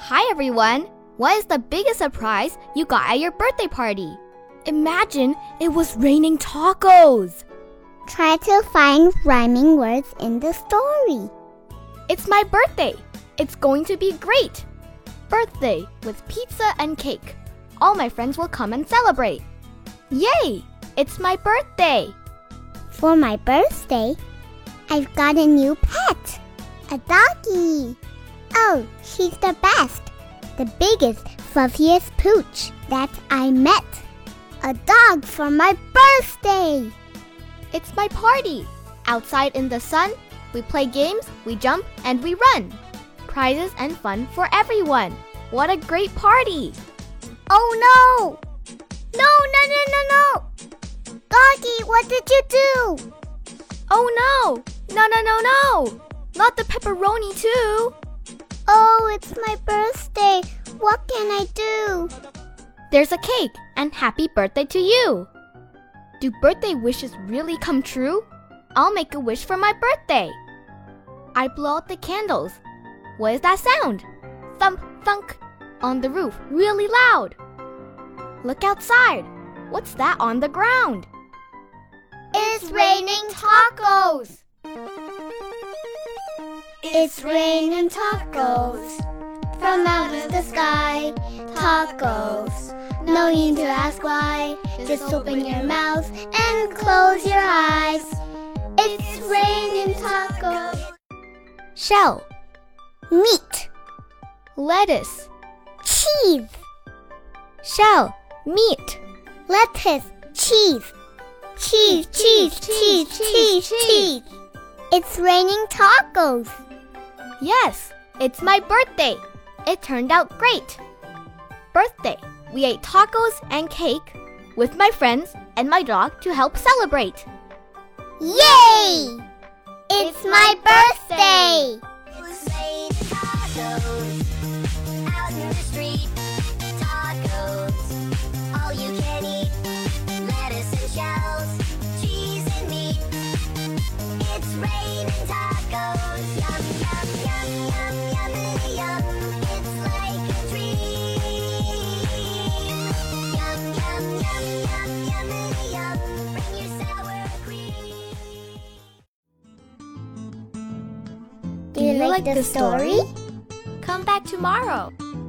Hi everyone! What is the biggest surprise you got at your birthday party? Imagine it was raining tacos! Try to find rhyming words in the story. It's my birthday! It's going to be great! Birthday with pizza and cake. All my friends will come and celebrate. Yay! It's my birthday! For my birthday, I've got a new pet, a doggy. Oh, she's the best, the biggest, fluffiest pooch that I met. A dog for my birthday! It's my party! Outside in the sun, we play games, we jump, and we run. Prizes and fun for everyone. What a great party! Oh no! No! Doggy, what did you do? Oh no! No! Not the pepperoni too! Oh, it's my birthday. What can I do? There's a cake and happy birthday to you. Do birthday wishes really come true? I'll make a wish for my birthday. I blow out the candles. What is that sound? Thump, thunk, on the roof, really loud. Look outside. What's that on the ground? It's raining tacos. It's raining tacos from out of the sky. Tacos, no need to ask why. Just open your mouth and close your eyes. It's raining tacos. Shell, Meat, lettuce, cheese, shell, meat, lettuce, cheese. Cheese. It's raining tacos. Yes, it's my birthday. It turned out great. Birthday, we ate tacos and cake with my friends and my dog to help celebrate. Yay! It's my birthday! It was raining tacos out in the street. Tacos, all you can eat. Lettuce and shells, cheese and meat. It's raining tacos. Yum, yummity, yum. It's like a dream. Yum, yummity, yum. Bring your sour cream. Do you like the story? Come back tomorrow.